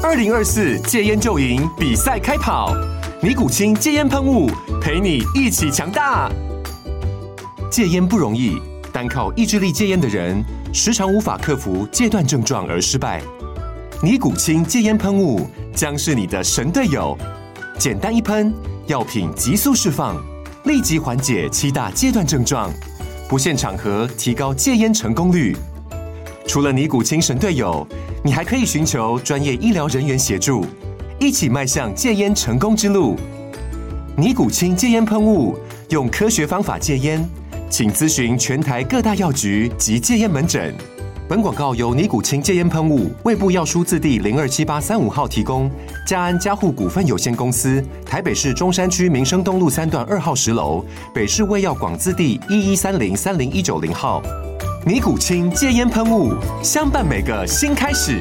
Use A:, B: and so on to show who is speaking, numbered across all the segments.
A: 2024戒菸就贏比賽開跑，尼古清戒菸噴霧陪你一起強大。戒菸不容易，單靠意志力戒菸的人，時常無法克服戒斷症狀而失敗。尼古清戒菸噴霧將是你的神隊友，簡單一噴，藥品急速釋放，立即緩解7大戒斷症狀，不限場合提高戒菸成功率。除了尼古清神隊友，你還可以尋求專業醫療人員協助，一起邁向戒菸成功之路。尼古清戒菸噴霧，用科學方法戒菸，請諮詢全台各大藥局及戒菸門診。本廣告由尼古清戒菸噴霧衛部藥書字第027835號提供，嘉安嘉護股份有限公司，台北市中山區民生東路3段2號10樓，北市衛藥廣字第1130-30190號。尼古清戒菸噴霧，相伴每個新開始。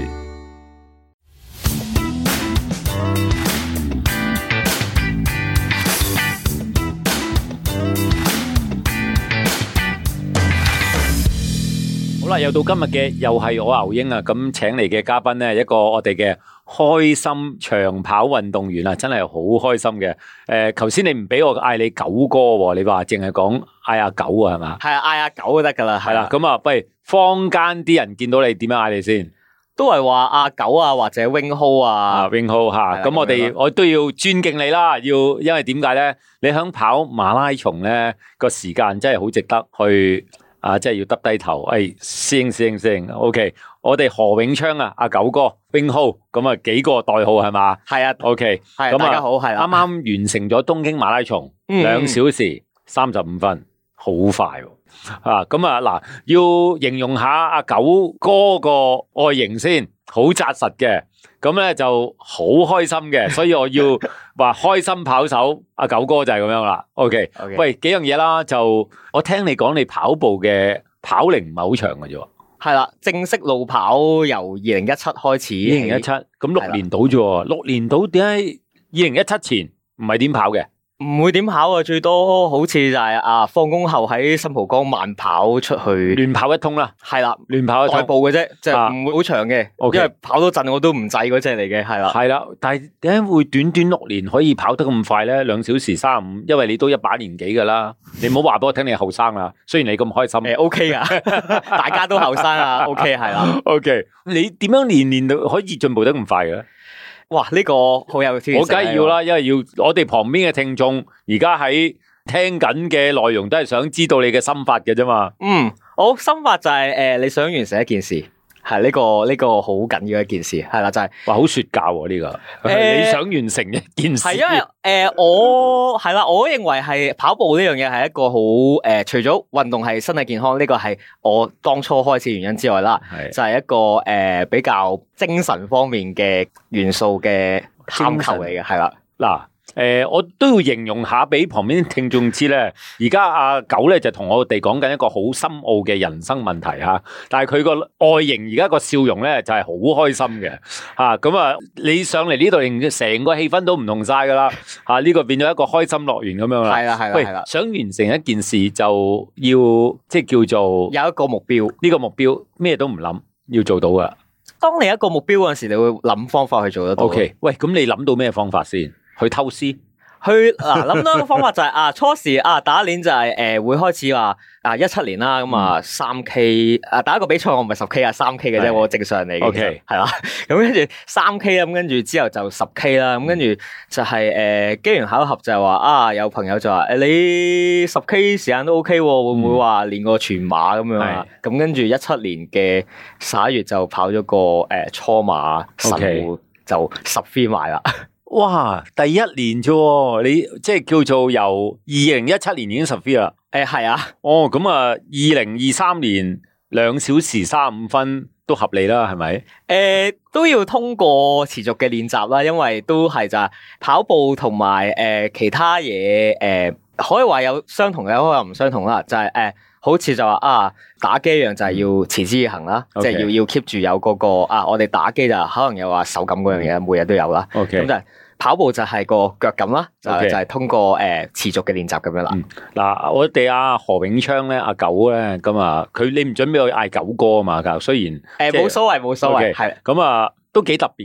B: 好啦，又到今日嘅又係我牛英啊！咁請嚟嘅嘉賓咧，一個我哋嘅開心長跑運動員啊，真係好開心嘅。頭先你唔俾我嗌你九哥，你話淨係講嗌阿九啊，係嘛？係啊，嗌阿九就得噶啦。係啦，咁啊，不如坊間啲人見到你點樣嗌你先？都係話阿九啊，或者 Wing Ho 啊，Wing Ho 吓。咁我都要尊敬你啦，因為點解咧？你響跑馬拉松咧個時間真係好值得去。即係要耷低頭，師兄 ，OK， 我哋何永昌啊，阿九哥 ，Wing Ho， 咁啊幾個代號係嘛？係啊 ，OK， 咁大家好，係啦，啱啱完成咗東京馬拉松，2小時35分，好快喎，咁啊嗱，要形容下阿九哥個外形先，好紮實嘅。咁咧就好開心嘅，所以我要話開心跑手阿九哥就係咁樣啦。OK， 喂，幾樣嘢啦，就我聽你講你跑步嘅跑齡唔係好長嘅啫。係啦，正式路跑由2017開始。2017，咁6年到啫喎，6年到點解2017前唔係點跑嘅？唔會點跑啊，最多好似就係放工後喺新蒲崗慢跑出去亂跑一通啦。係啦，亂跑一通代步嘅啫，就唔會好長嘅。因為跑多陣我都唔制嗰隻嚟嘅。係啦，係啦，但係點解會短短6年可以跑得咁快咧？2小時35，因為你都一把年紀噶啦。你唔好話俾我聽你後生啦，雖然你咁開心。OK 噶，大家都後生啊。OK 係啦。OK， 你點樣年都可以進步得咁快嘅？哇！呢個好有挑戰，我梗係要啦，因為要我哋旁邊嘅聽眾而家喺聽緊嘅內容都係想知道你嘅心法嘅啫嘛。我心法就係你想完成一件事，係呢個好緊要一件事，係啦，就係話好說教喎呢個。你想完成一件事，係因為我認為係跑步呢樣嘢係一個好除咗運動係身體健康呢個係我當初開始原因之外啦，就係一個比較精神方面嘅元素嘅探求嚟嘅，係啦嗱。我都要形容下俾旁邊聽眾知咧，而家阿九咧就同我哋講緊一個好深奧嘅人生問題吓，但係佢個外形而家個笑容咧就係好開心嘅吓，咁啊你上嚟呢度，令成個氣氛都唔同晒噶啦吓，呢個變咗一個開心樂園咁樣啦。係啦係啦，喂，想完成一件事就要即係叫做有一個目標，呢個目標咩都唔諗要做到噶。當你一個目標嗰陣時，你會諗方法去做得到。OK， 喂，咁你諗到咩方法先？去偷師，諗到一個方法就係初時第一年就係會開始話17年啦，咁3K 第一個比賽我唔係10K 3K 嘅啫，我正常嚟嘅。OK 係啦，咁跟住3K 咁跟住之後就10K 啦，咁跟住就係機緣巧合就係話有朋友就話你10K 時間都 OK 喎，會唔會話練個全馬咁樣啊？咁跟住17年嘅11月就跑咗個初馬神戶就10free埋啦。哇！第一年啫，你即係叫做由2017年已經10free啦。係啊。哦，咁啊，2023年2小時35分都合理啦，係咪？都要通過持續嘅練習啦，因為都係就係跑步同埋其他嘢可以話有相同嘅，可以話唔相同啦。就係好似就話打機一樣，就係要持之以恆啦，即係要 keep 住有嗰個我哋打機就可能有話手感嗰樣嘢，每日都有啦。咁就係跑步就係個腳感啦，就係通過持續嘅練習咁樣啦。嗱，我哋何永昌咧，阿九咧，咁佢你唔準俾我嗌九哥啊嘛，雖然冇所謂，係咁都幾特別嘅。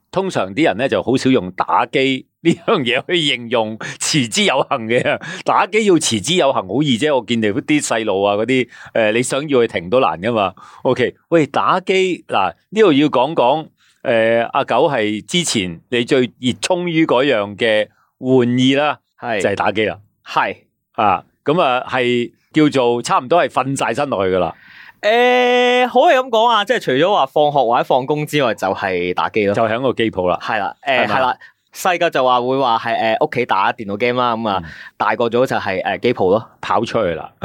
B: 通常啲人咧就好少用打機呢樣嘢去形容持之有恒嘅。打機要持之有恒好易啫，我見你啲細路啊嗰啲你想要去停都難噶嘛。OK， 喂，打機嗱呢度要講講阿九係之前你最熱衷於嗰樣嘅玩意啦，係就係打機啦，係啊，咁啊係叫做差唔多係瞓晒身落去噶啦。
C: 可以咁講啊，即係除咗話放學或者放工之外，就係打機咯，
B: 就喺個機鋪啦。
C: 係啦，係啦，細個就話會話係屋企打電腦 game 啦，咁啊大個咗就係機鋪咯，
B: 跑出去啦。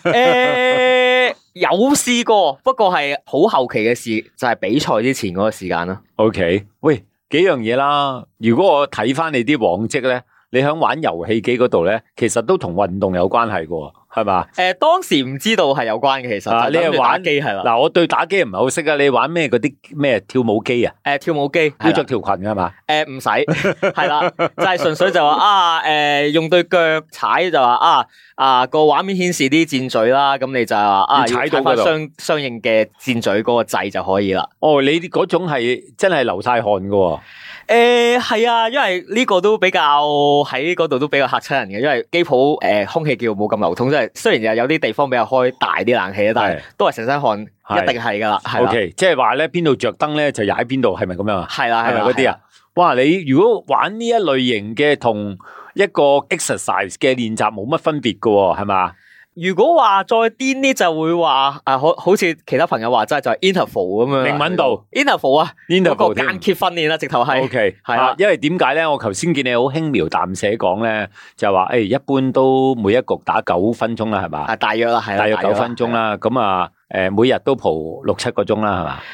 C: 有試過，不過係好後期嘅事，就係比賽之前嗰個時間咯。
B: OK， 喂，幾樣嘢啦。如果我睇翻你啲往績咧，你喺玩遊戲機嗰度咧，其實都同運動有關係嘅。係嘛？
C: 當時唔知道係有關嘅，其實
B: 你係玩
C: 機係啦。
B: 嗱，我對打機唔係好識啊。你玩咩嗰啲咩跳舞機啊？
C: 跳舞機
B: 要着條裙㗎嘛？
C: 唔使，係啦，就係純粹就話用對腳踩就話個畫面顯示啲箭嘴啦，咁你就話
B: 踩到嗰度
C: 相應嘅箭嘴嗰個掣就可以啦。
B: 哦，你嗰種係真係流晒汗㗎。
C: 係啊，因為呢個都比較喺嗰度都比較嚇親人嘅，因為機鋪空氣叫冇咁流通，即係雖然有啲地方比較開大啲冷氣，但係都係成身汗，一定係噶啦。
B: OK， 即係話咧，邊度着燈咧就踩邊度，係咪咁樣啊？
C: 係啦，
B: 係咪嗰啲啊？哇！你如果玩呢一類型嘅同一個 exercise 嘅練習冇乜分別噶，係嘛？
C: 如果話再癲啲就會話好似其他朋友話齋就係 interval 咁樣，靈敏度 interval 啊，嗰個間歇訓練啦，直頭係
B: OK 係啦。因為點解咧？我頭先見你好輕描淡寫講咧，就係話一般都每一局打9分鐘啦，係嘛？
C: 大約啦，係
B: 大約9分鐘啦。咁啊。每日都蒲6-7個鐘啦，係嘛？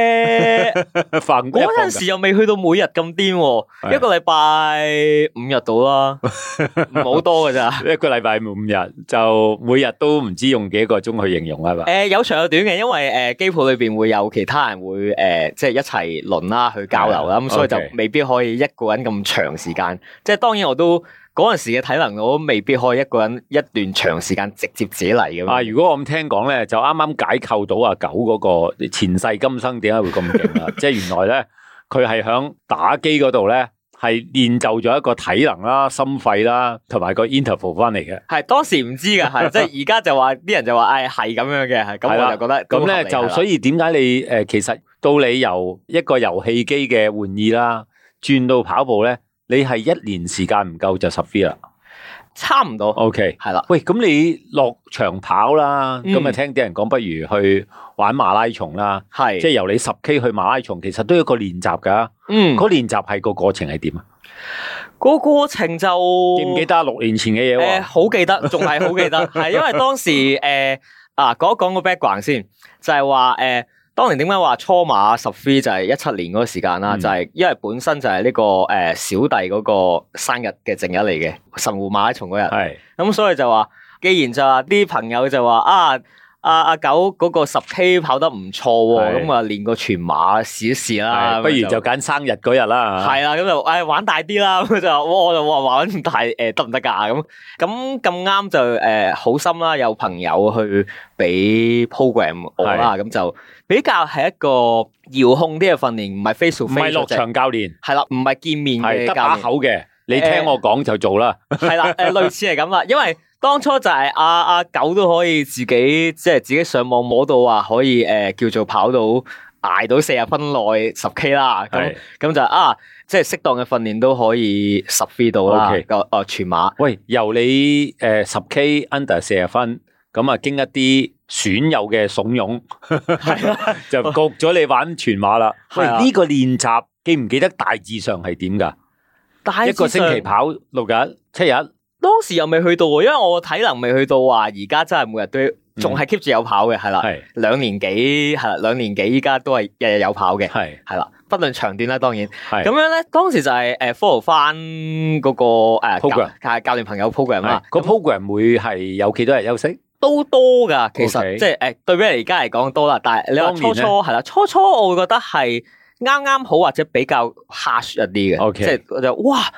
C: 嗰陣時又未去到每日咁癲，一個禮拜5日到啦，唔好多㗎咋。
B: 一個禮拜5日就每日都唔知用幾個鐘去形容係嘛？
C: 有長有短嘅，因為機鋪裏邊會有其他人會即係一齊輪啦去交流啦，咁所以就未必可以一個人咁長時間。即係當然我都。嗰陣時嘅體能，我都未必可以一個人一段長時間直接自己嚟嘅。
B: 如果我咁聽講咧，就啱啱解構到阿九嗰個前世今生點解會咁勁啦？即係原來咧，佢係響打機嗰度咧，係練就咗一個體能啦、心肺啦，同埋個 interval 翻嚟嘅。
C: 係當時唔知㗎，係即係而家就話啲人就話，係咁樣嘅，係咁我就覺得
B: 咁咧就所以點解你其實到你由一個遊戲機嘅玩意啦，轉到跑步咧？你係1年時間唔夠就10V啦，
C: 差唔多。
B: OK，
C: 係啦。
B: 喂，咁你落場跑啦，咁啊聽啲人講，不如去玩馬拉松啦。係，即係由你10K 去馬拉松，其實都有一個練習噶。嗰練習係個過程係點啊？
C: 個過程就
B: 記唔記得6年前嘅嘢？
C: 好記得，仲係好記得。係因為當時講一講個 background 先，就係話當年點解話初馬10V就係17年嗰個時間啦？就係因為本身就係呢個小弟嗰個生日嘅正日嚟嘅，神戶馬拉松嗰日。係咁，所以就話，既然就話啲朋友就話阿九嗰個10K 跑得唔錯喎，咁啊練個全馬試一試啦。
B: 不如就揀生日嗰日啦。
C: 係啦，咁就玩大啲啦。咁就我就話玩咁大得唔得㗎？咁啱就好心啦，有朋友去俾 program 我啦，咁就比較係一個遙控啲嘅訓練，唔係 face to face，唔係
B: 落場教練。係
C: 啦，唔係見面嘅教練，得
B: 把口嘅。你聽我講就做啦。
C: 係啦，類似係咁啦，因為。當初就係阿九都可以自己即係自己上網摸到話可以叫做跑到捱到40分內10K 啦，咁就即係適當嘅訓練都可以10V到啦。全馬。喂，
B: 由你10K under 40分，咁啊經一啲損友嘅慫恿，就焗咗你玩全馬啦。喂，呢個練習記唔記得大致上係點噶？一個星期跑6日7日。
C: 當時又未去到，因為我體能未去到話，而家真係每日都仲係 keep 住有跑嘅，係啦，2年幾係啦，2年幾依家都係日日有跑嘅，係啦，不論長短啦，當然，咁樣咧，當時就係follow 翻嗰個
B: program，
C: 教練朋友 program 啦，
B: 個 program 會係有幾多日休息？
C: 都多噶，其實即係對比而家嚟講多啦，但係你話初係啦，初我會覺得係啱啱好或者比較 harsh 一啲嘅，即係就哇。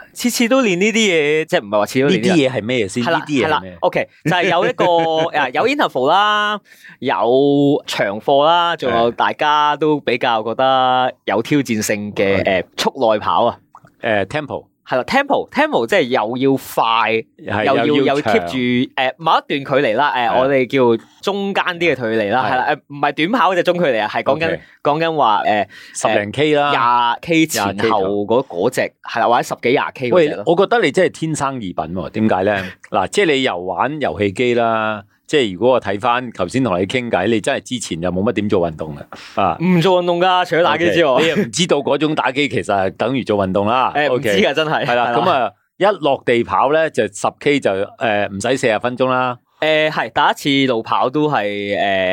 C: 次次都練呢啲嘢，即係唔係話次次都練
B: 呢啲嘢係咩先？呢啲嘢係咩
C: ？OK，就係有一個有 interval 啦，有長課啦，仲有大家都比較覺得有挑戰性嘅速內跑啊。
B: tempo
C: 係啦 ，tempo 即係又要快，又要 keep 住某一段距離啦。我哋叫中間啲嘅距離啦，係啦，唔係短跑嗰隻中距離啊，係講緊話
B: 10零 K 啦
C: ，20K 前後嗰隻係啦，或者10幾20K 嗰隻咯。
B: 我覺得你真係天生異稟喎，點解咧？嗱，即係你又玩遊戲機啦。即係如果我睇翻頭先同你傾偈，你真係之前又冇乜點做運動啊？唔
C: 做運動噶，除咗打機之外，
B: 你又唔知道嗰種打機其實係等於做運動啦。
C: 唔知噶真係。係啦，
B: 咁啊一落地跑咧就10K 就唔使40分鐘啦。
C: 係第一次路跑都係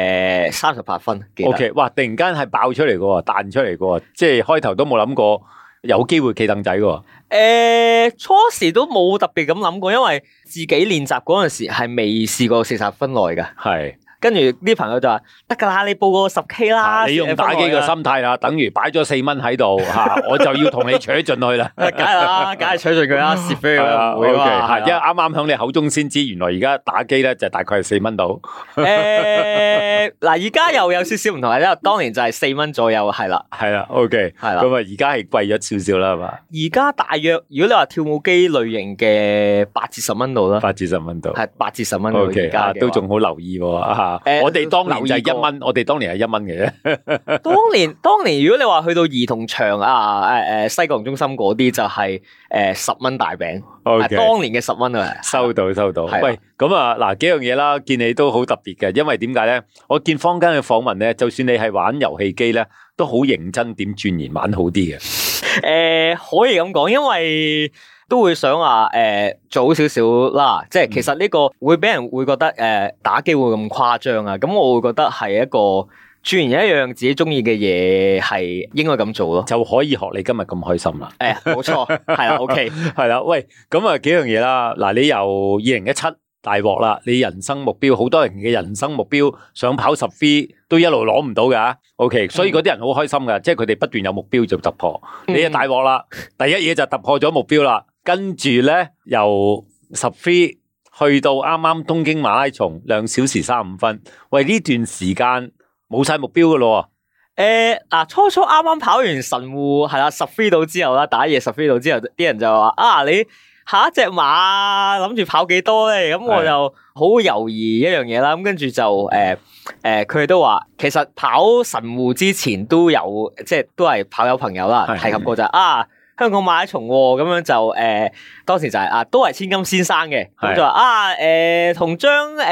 C: 38分。
B: OK， 哇！突然間係爆出嚟嘅，彈出嚟嘅，即係開頭都冇諗過有機會企凳仔嘅。
C: 初時都冇特別咁諗過，因為自己練習嗰陣時係未試過40分內嘅。係。跟住啲朋友就話得噶啦，你報個10K 啦。
B: 你用打機嘅心態啦，等於擺咗4蚊喺度吓，我就要同你取進去啦。梗係啦，梗係取進佢啦，蝕俾佢唔會嘛。係，因為啱啱響你口中先知，原來而家打機咧就大概係4蚊到。嗱，
C: 而家又有少少唔同，因為當年就係4蚊左右，係啦，
B: 係啦 ，OK， 係啦。咁啊，而家係貴咗少少啦，係嘛？
C: 而家大約，如果你話跳舞機類型嘅8至10蚊度啦，
B: 8至10蚊度，
C: 係8至10蚊度。
B: OK，都仲好留意喎。我哋當年就係1蚊，我哋當年係1蚊嘅啫。
C: 當年如果你話去到兒童場啊，西九龍中心嗰啲就係10蚊大餅。
B: Okay，
C: 當年嘅10蚊啊，
B: 收到。喂，咁啊嗱，幾樣嘢啦，見你都好特別嘅，因為點解咧？我見坊間嘅訪問咧，就算你係玩遊戲機咧，都好認真點鑽研玩好啲嘅。
C: 可以咁講，因為都會想話早少少啦，即係其實呢個會俾人會覺得打機會咁誇張啊，咁我會覺得係一個鑽研一樣自己中意嘅嘢係應該咁做咯，
B: 就可以學你今日咁開心啦。
C: 冇錯，係啦，OK，
B: 係啦，喂，咁啊幾樣嘢啦，嗱，你由2017大鑊啦，你人生目標好多人嘅人生目標想跑10 free 都一路攞唔到噶，OK，所以嗰啲人好開心噶，即係佢哋不斷有目標就突破，你啊大鑊啦，第一嘢就突破咗目標啦。跟住咧，由10 free 去到啱啱東京馬拉松2小時35分，喂，呢段時間冇晒目標噶咯。
C: 初初啱啱跑完神戶係啦10 free 到之後啦，打野10 free 到之後，啲人就話你下一隻馬諗住跑幾多咧？咁我就好猶豫一樣嘢啦。咁跟住就佢哋都話，其實跑神戶之前都有，即係都係跑友朋友啦提及過就香港馬拉松咁樣就當時就係都係千金先生嘅，咁就話同張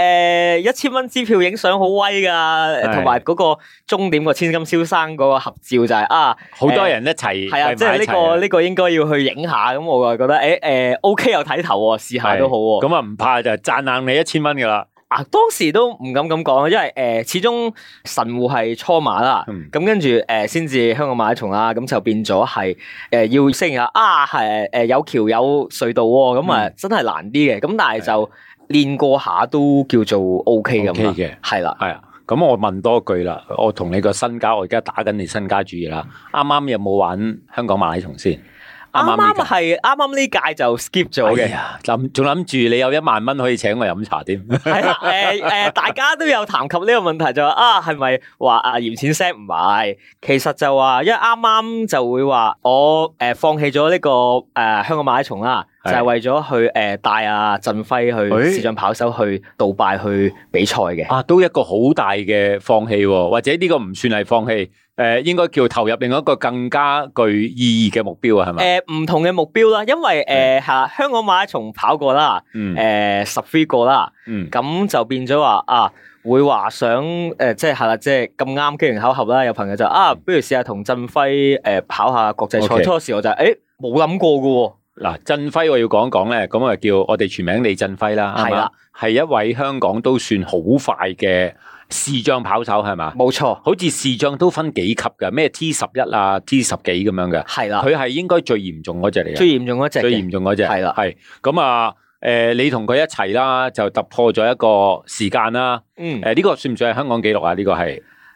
C: 1000蚊支票影相好威噶，同埋嗰個終點個千金先生嗰個合照就係
B: 好多人一齊
C: 係啊，即係呢個應該要去影下，咁我就覺得OK 有睇頭，試下都好。
B: 咁啊唔怕就讚硬你1000蚊噶啦。
C: 當時都唔敢咁講，因為始終神戶係初馬啦，咁跟住先至香港馬拉松啦，咁就變咗係要適應下係有橋有隧道喎，咁啊真係難啲嘅，咁但係就練過下都叫做 OK 咁嘅，係啦，係啊。
B: 咁我問多句啦，我同你個身家，我而家打緊你身家主義啦，啱啱有冇玩香港馬拉松先？
C: 啱啱呢屆就 skip 咗嘅，
B: 仲諗住你有1萬蚊可以請我飲茶添。
C: 係啦，大家都有談及呢個問題，就話係咪話嫌錢 set 唔係？其實就話，因為啱啱就會話我放棄咗呢個香港馬拉松啦，就係為咗去帶阿振輝去視像跑手去杜拜去比賽嘅。
B: 都一個好大嘅放棄，或者呢個唔算係放棄。應該叫投入另一個更加具意義嘅目標啊，係咪？
C: 唔同嘅目標啦，因為香港馬拉松跑過啦，10 free 過啦，咁就變咗話會話想即係啦，即係咁啱機緣巧合啦，有朋友就不如試下同振輝跑下國際賽。初時我就冇諗過噶。
B: 嗱，振輝我要講一講咧，咁啊叫我哋全名李振輝啦，係啦，係一位香港都算好快嘅視障跑手，係嘛？冇錯，好似視障都分幾級嘅，咩 T11 啊 T10幾咁樣嘅，係啦，佢係應該最嚴重嗰隻嚟嘅，
C: 最嚴重嗰隻，係啦，
B: 係咁啊，你同佢一齊啦，就突破咗一個時間啦，呢個算唔算係香港紀錄啊？呢個係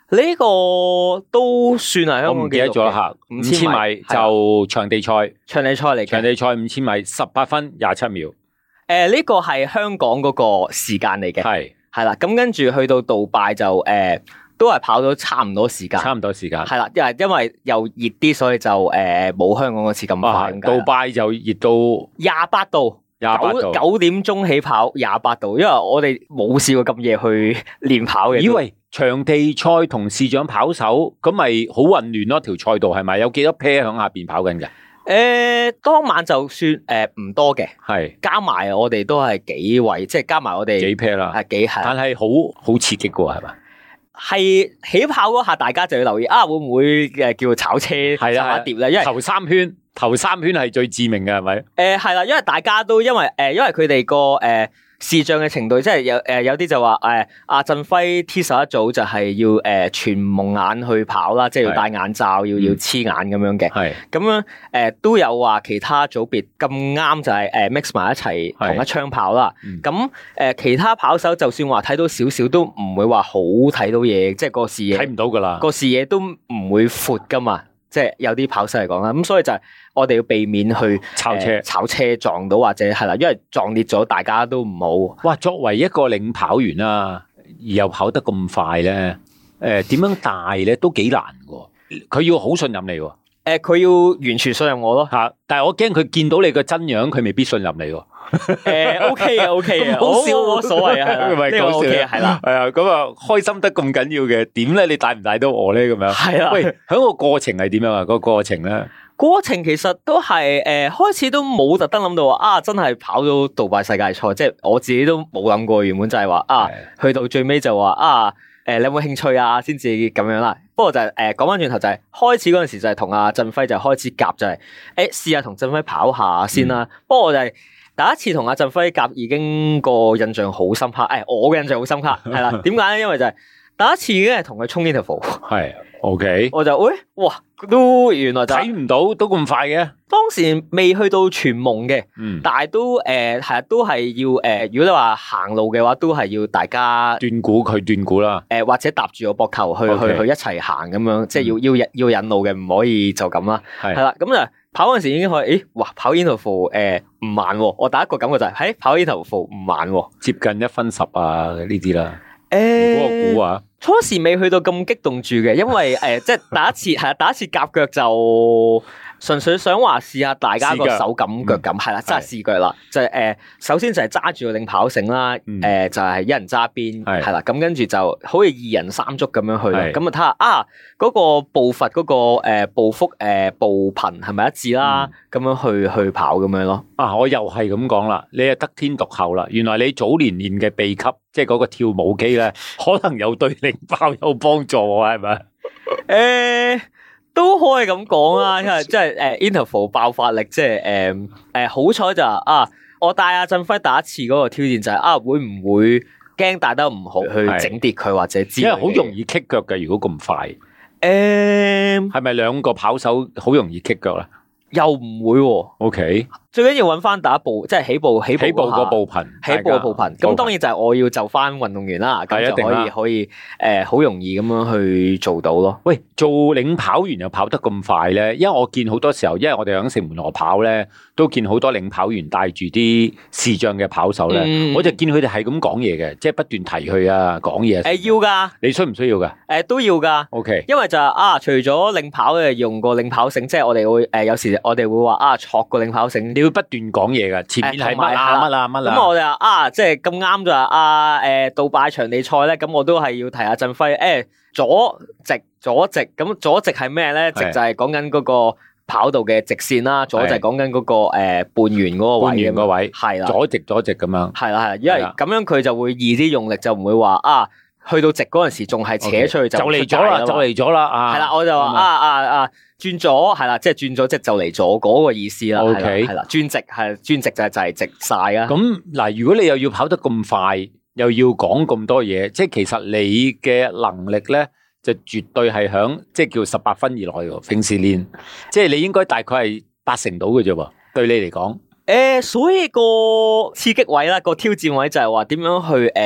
C: 呢個都算係香港紀錄嘅。我唔記得咗吓
B: ，5000米就場地賽，
C: 場地賽嚟嘅。
B: 場地賽5000米18分27秒。
C: 呢個係香港嗰個時間嚟嘅，係啦。咁跟住去到杜拜就都係跑到差唔多時間，係啦。因為又熱啲，所以就冇香港嗰次咁快。
B: 杜拜就熱到
C: 28度。9點鐘起跑28度，因為我哋冇試過咁夜去練跑嘅。
B: 以為場地賽同視像跑手咁咪好混亂咯？條賽道係咪有幾多 pair 響下邊跑緊嘅？
C: 當晚就算唔多嘅，
B: 係
C: 加埋我哋都係幾位，即係加埋我哋
B: 幾 pair 啦，
C: 係，
B: 但係好刺激嘅喎，係嘛？
C: 係起跑嗰下，大家就要留意會唔會叫炒車插一碟咧？因為
B: 頭三圈係最致命嘅，係咪？
C: 係啦，因為大家都因為佢哋個視像嘅程度，即係有啲就話阿振輝 T11 組就係要全蒙眼去跑啦，即係要戴眼罩，要黐眼咁樣嘅。係咁樣都有話其他組別咁啱就係mix 埋一齊同一槍跑啦。咁其他跑手就算話睇到少少都唔會話好睇到嘢，即係個視野睇唔到噶啦，個視野都唔會闊噶嘛。即係有啲跑手嚟講啦，咁所以就係我哋要避免去炒車撞到或者係啦，因為撞裂咗大家都唔好。
B: 哇！作為一個領跑員啦，而又跑得咁快咧，點樣帶咧都幾難嘅。佢要好信任你喎。
C: 佢要完全信任我咯。
B: 吓，但係我驚佢見到你個真樣，佢未必信任你喎。
C: OK 嘅，好笑冇所謂啊，呢個 OK 係啦，
B: 係啊，咁啊開心得咁緊要嘅，點咧？你帶唔帶到我咧？咁樣
C: 係啦。
B: 喂，喺個過程係點樣啊？個過程咧？
C: 過程其實都係開始都冇特登諗到話真係跑到杜拜世界賽，即係我自己都冇諗過，原本就係話去到最尾就話你有冇興趣啊？先至咁樣啦。不過就係講翻轉頭就係開始嗰陣時就係同阿振輝就開始夾，就係試下同振輝跑下先啦。不過我就係第一次同阿振輝夾已經個印象好深刻。我嘅印象好深刻係啦。點解咧？因為就係第一次已經係同佢衝 interval。係 OK。我就哇都原來就
B: 睇唔到都咁快嘅。
C: 當時未去到全蒙嘅，但係都係都係要如果你話行路嘅話，都係要大家
B: 斷估佢斷估啦。
C: 或者搭住個膊頭去一齊行咁樣，即係要引路嘅，唔可以就咁啦。係啦，咁就跑嗰陣時已經可以，哇！跑 interval 唔慢喎。我第一個感覺就係跑 interval 唔慢喎，
B: 接近1分10啊呢啲啦。嗰個估啊，
C: 初時未去到咁激動住嘅，因為即係第一次夾腳就純粹想話試下大家個手感腳感係啦，真係試腳啦。就係首先就係揸住個領跑繩啦，就係一人揸邊係啦，咁跟住就好似2人3足咁樣去啦。咁啊睇下嗰個步伐嗰個步幅步頻係咪一致啦？咁樣去跑咁樣咯。
B: 我又係咁講啦，你係得天獨厚啦。原來你早年練嘅秘笈，即係嗰個跳舞機咧，可能有對領跑有幫助喎，係咪？
C: 都可以咁講啊，因為即係interval 爆發力，即係好彩就我帶阿振輝第一次嗰個挑戰就係會唔會驚帶得唔好去整跌佢或者之類嘅，
B: 因為好容易棘腳嘅，如果咁快，係咪兩個跑手好容易棘腳咧？
C: 又唔會喎。
B: OK。
C: 最緊要揾翻第一步，即係起步
B: 個步頻，
C: 起步嘅步頻。咁當然就係我要就翻運動員啦，咁就可以好容易咁樣去做到咯。
B: 喂，做領跑員又跑得咁快咧？因為我見好多時候，因為我哋響城門河跑咧，都見好多領跑員帶住啲視障嘅跑手咧，我就見佢哋係咁講嘢嘅，即係不斷提佢啊，講嘢。
C: 要噶，
B: 你需唔需要噶？
C: 都要噶。
B: OK，
C: 因為就除咗領跑嘅用個領跑繩，即係我哋會有時我哋會話戳個領跑繩。
B: 不斷講嘢噶，前面係乜啊？
C: 咁我哋即係咁啱就話杜拜場地賽咧，咁我都係要提下振輝。左直，咁左直係咩咧？直就係講緊嗰個跑道嘅直線啦，左就係講緊嗰個半圓嗰個位。半圓個位係啦，左直咁樣。係啦，因為咁樣佢就會易啲用力，就唔會話去到直嗰陣時仲係扯出去就嚟咗啦。係啦，我就話轉左係啦，即係轉咗，即係就嚟咗嗰個意思啦。係啦，轉直就係直晒啊。
B: 咁嗱，如果你又要跑得咁快，又要講咁多嘢，即係其實你嘅能力咧，就絕對係響即係叫18分以內喎。平時練，即係你應該大概係80%到嘅啫喎。對你嚟講，
C: 所以個刺激位啦，個挑戰位就係話點樣去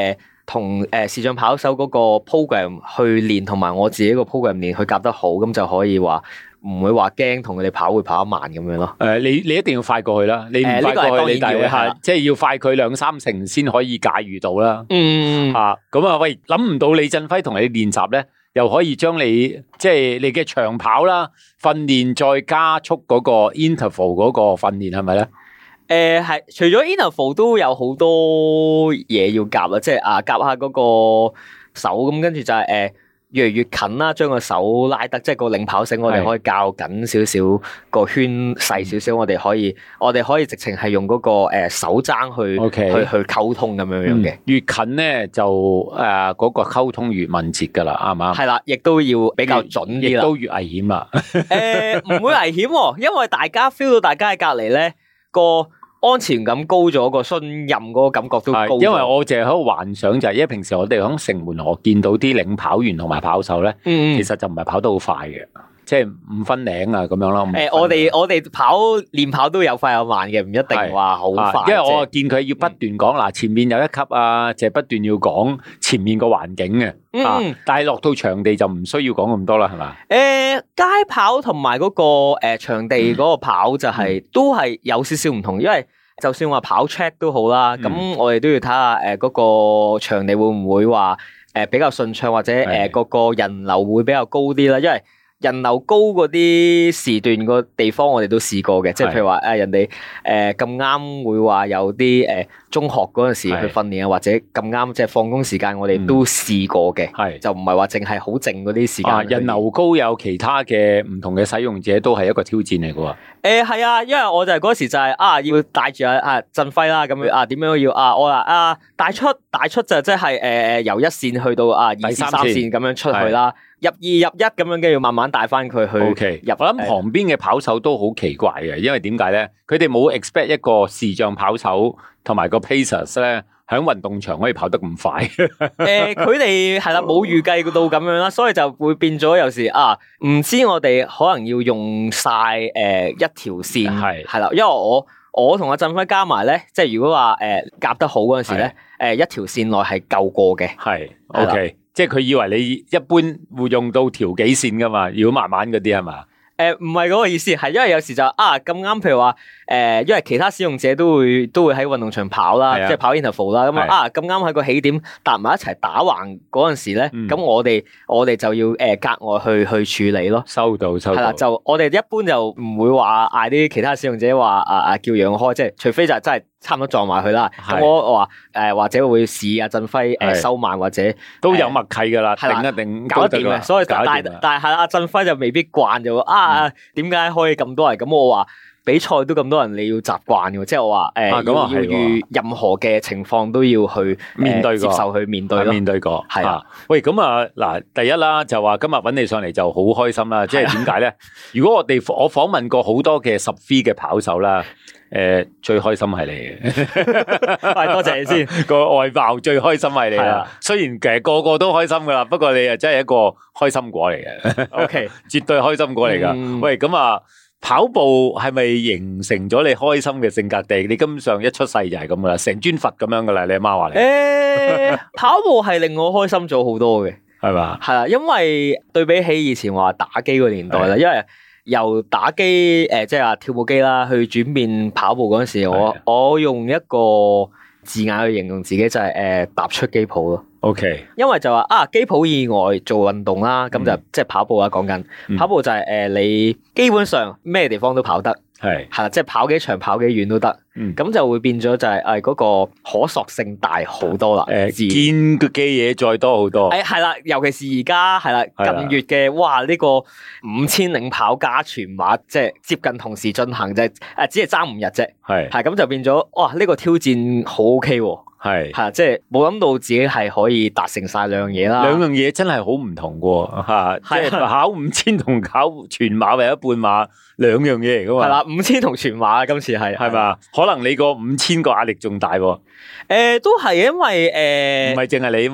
C: 同視障跑手嗰個 program 去練，同埋我自己個 program 練，去夾得好，咁就可以話唔會話驚同佢哋跑會跑得慢咁樣咯。
B: 你一定要快過去啦，你唔快過去，你大係即係要快佢2-3成先可以駕馭到啦。咁啊，喂，諗唔到李振輝同你練習咧，又可以將你即係你嘅長跑啦訓練，再加速嗰個 interval 嗰個訓練係咪咧？
C: 係，除咗 interval 都有好多嘢要夾啦，即係夾下嗰個手，咁跟住就係越嚟越近啦，將個手拉得，即係個領跑繩，我哋可以較緊少少，個圈細少少，我哋可以直情係用嗰個手踭去溝通咁樣嘅。
B: 越近咧就嗰個溝通越敏捷噶啦，啱唔啱？係
C: 啦，亦都要比較準啲啦，
B: 亦都越危險啦。
C: 唔會危險，因為大家 feel 到大家喺隔籬咧個安全感高咗，個信任嗰個感覺都高咗。
B: 因為我淨係喺度幻想就係，因為平時我哋喺城門河見到啲領跑員同埋跑手咧，其實就唔係跑得好快嘅，即係5分零啊咁樣咯。
C: 我哋練跑都有快有慢嘅，唔一定話好快。
B: 因為我見佢要不斷講嗱，前面有一級啊，就係不斷要講前面個環境嘅。但係落到場地就唔需要講咁多啦，係嘛？
C: 街跑同埋嗰個場地嗰個跑就係都係有少少唔同，因為就算話跑 track 都好啦，咁我哋都要睇下嗰個場地會唔會話比較順暢，或者嗰個人流會比較高啲啦，因為人流高嗰啲時段個地方我哋都試過嘅，即係譬如話人哋咁啱會話有啲中學嗰陣時去訓練啊，或者咁啱即係放工時間我哋都試過嘅，就唔係話淨係好靜嗰啲時間。
B: 人流高有其他嘅唔同嘅使用者都係一個挑戰嚟嘅喎。
C: 係啊，因為我就係嗰時就係要帶住振輝啦，咁樣點樣要我話帶出就即係由1線去到2、3線咁樣出去啦。入2入1咁樣，跟住要慢慢帶翻佢去入。
B: 我諗旁邊嘅跑手都好奇怪嘅，因為點解咧？佢哋冇 expect 一個視障跑手同埋個 pacers 咧，喺運動場可以跑得咁快。
C: 佢哋係啦，冇預計到咁樣啦，所以就會變咗有時唔知我哋可能要用晒一條線係啦，因為我同阿振輝加埋咧，即係如果話夾得好嗰陣時咧，一條線內係夠過嘅。
B: 係 OK。即係佢以為你一般會用到條幾線噶嘛？如果慢慢嗰啲係嘛？
C: 唔係嗰個意思，係因為有時就咁啱，譬如話因為其他使用者都會喺運動場跑啦，即係跑 interval 啦，咁咁啱喺個起點搭埋一齊打橫嗰陣時咧，咁我哋就要格外去處理咯。
B: 收到。係
C: 啦，就我哋一般就唔會話嗌啲其他使用者話叫讓開，即係除非就真係差唔多撞埋佢啦。咁我話或者會試阿振輝收慢，或者
B: 都有默契噶啦，定一定
C: 搞得掂嘅。所以但係阿振輝就未必慣就點解可以咁多人？咁我話比賽都咁多人，你要習慣嘅，即係我話要遇任何嘅情況都要去面對接受去面對咯。
B: 面對過係喂，咁嗱，第一啦就話今日揾你上嚟就好開心啦。即係點解咧？如果我訪問過好多嘅10V嘅跑手啦，最開心係你嘅。
C: 多謝你先。
B: 個外貌最開心係你啦。雖然其實個個都開心噶啦，不過你真係一個開心果嚟嘅。
C: OK，
B: 絕對開心果嚟噶。喂，咁跑步係咪形成咗你開心嘅性格？定你根本上一出世就係咁噶啦，成尊佛咁樣噶啦？你阿媽話你？
C: 跑步係令我開心咗好多嘅，
B: 係嘛？
C: 係啦，因為對比起以前話打機個年代啦，因為由打機即係話跳舞機啦，去轉變跑步嗰陣時，我用一個字眼去形容自己就係踏出機鋪咯。
B: OK，
C: 因為就話機鋪以外做運動啦，咁就即係跑步啦。講緊跑步就係你基本上咩地方都跑得，係啦，即係跑幾長跑幾遠都得。咁就會變咗就係嗰個可塑性大好多啦。
B: 見嘅嘢再多好多。
C: 係啦，尤其是而家係啦，近月嘅哇呢個5000領跑加全馬，即係接近同時進行，就只係爭5日啫。係咁就變咗哇呢個挑戰好 OK 喎。係即係冇諗到自己係可以達成晒兩樣嘢啦。
B: 兩樣嘢真係好唔同嘅，即係跑5000同跑全馬或者半馬兩樣嘢嚟噶嘛。係啦
C: ，5000同全馬今次係
B: 嘛？可能你個5000個壓力仲大喎。
C: 都係因為
B: 唔係淨係你啊嘛。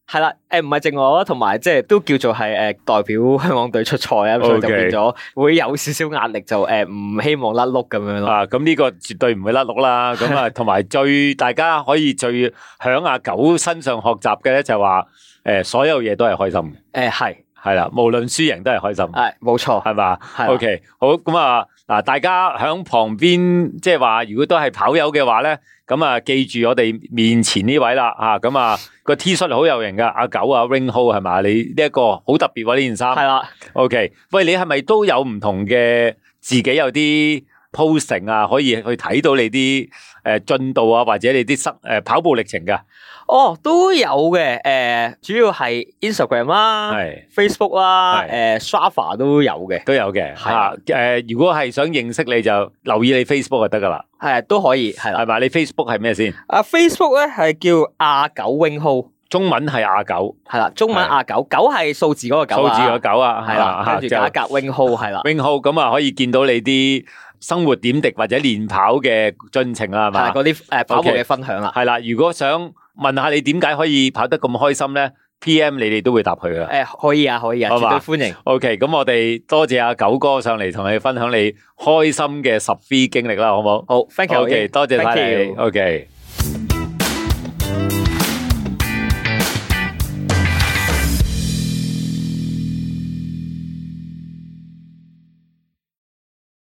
C: 係啦，唔係淨我，同埋即係都叫做係代表香港隊出賽啊，所以就變咗會有少少壓力，就唔希望甩碌咁樣咯。
B: 咁呢個絕對唔會甩碌啦。咁啊，同埋大家可以最響阿九身上學習嘅咧，就係話所有嘢都係開心嘅。係啦，無論輸贏都係開心。
C: 冇錯，
B: 係嘛？OK，好，咁啊，嗱，大家響旁邊，即係話，如果都係跑友嘅話咧，咁啊，記住我哋面前呢位啦，咁啊個 T 恤好有型噶，阿九啊 Wing Ho 係嘛？你呢一個好特別喎，呢件衫。係啦。OK，喂，你係咪都有唔同嘅自己有啲 posting 啊，可以去睇到你啲進度啊，或者你啲跑步歷程噶？
C: 都有嘅，主要係 Instagram 啦，Facebook 啦，Strava 都有嘅，如果係想認識你就留意你 Facebook 就得噶啦，都可以，係啦，
B: 係嘛？你 Facebook 係咩先
C: ？Facebook 咧係叫阿九 Wing Ho，
B: 中文係阿九，
C: 係啦，中文阿九，九係數字嗰個九，
B: 數字嗰九啊，
C: 係啦，跟住加一格 Wing Ho，係啦
B: ，Wing Ho 咁啊可以見到你啲生活點滴或者練跑嘅進程啦，係嘛？
C: 嗰啲跑步嘅分享啦，
B: 係啦，如果想問下你點解可以跑得咁開心咧 ？PM 你哋都會答佢噶。
C: 可以啊，絕對歡迎。
B: OK， 咁我哋多謝阿九哥上嚟同你分享你開心嘅10V經歷啦，好唔好？
C: 好 ，thank you。
B: OK， 多謝晒你。OK。